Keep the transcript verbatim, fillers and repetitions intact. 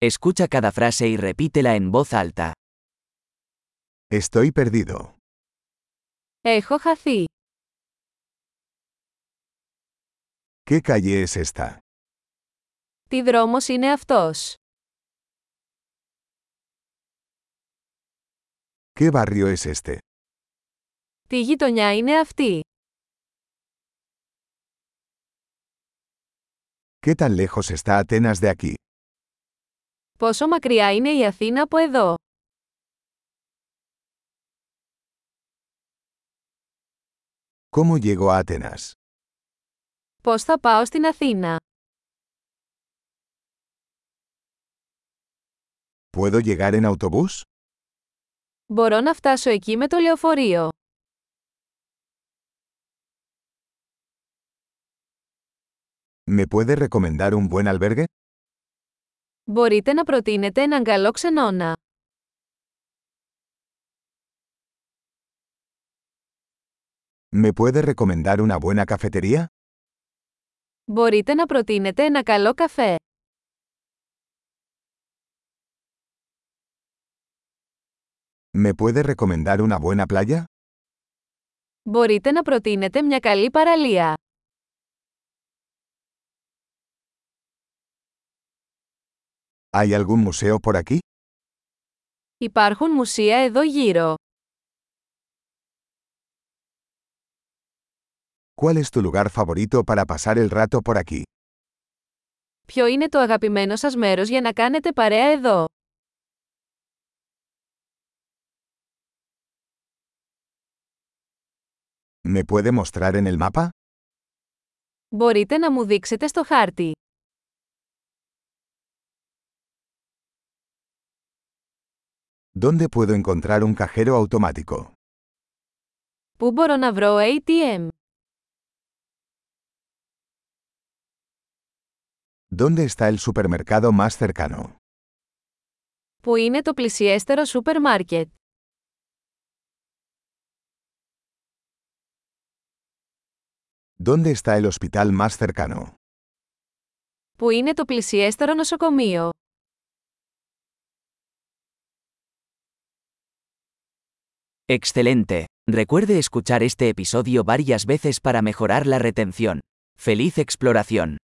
Escucha cada frase y repítela en voz alta. Estoy perdido. Έχω χαθεί. ¿Qué calle es esta? Τι δρόμος είναι αυτός? ¿Qué barrio es este? Τι γειτονιά είναι αυτή? ¿Qué tan lejos está Atenas de aquí? Πόσο μακριά είναι η Αθήνα από εδώ? ¿Cómo llego a Atenas? Πώς θα πάω στην Αθήνα? ¿Puedo llegar en autobús? Μπορώ να φτάσω εκεί με το λεωφορείο. ¿Me puede recomendar un buen albergue? Μπορείτε να προτείνετε έναν καλό ξενώνα. ¿Me puede recomendar una buena cafetería? Μπορείτε να προτείνετε ένα καλό καφέ. ¿Me puede recomendar una buena playa? Μπορείτε να προτείνετε μια καλή παραλία. ¿Hay algún museo por aquí? Υπάρχουν μουσεία εδώ γύρω. ¿Cuál es tu lugar favorito para pasar el rato por aquí? Ποιο είναι το αγαπημένο σας μέρος για να κάνετε παρέα εδώ? ¿Me puede mostrar en el mapa? Μπορείτε να μου δείξετε στο χάρτη. ¿Dónde puedo encontrar un cajero automático? Πού μπορώ να βρω έι τι εμ? ¿Dónde está el supermercado más cercano? Πού είναι το πλησιέστερο σούπερ μάρκετ? ¿Dónde está el hospital más cercano? Πού είναι το πλησιέστερο νοσοκομείο? Excelente. Recuerde escuchar este episodio varias veces para mejorar la retención. ¡Feliz exploración!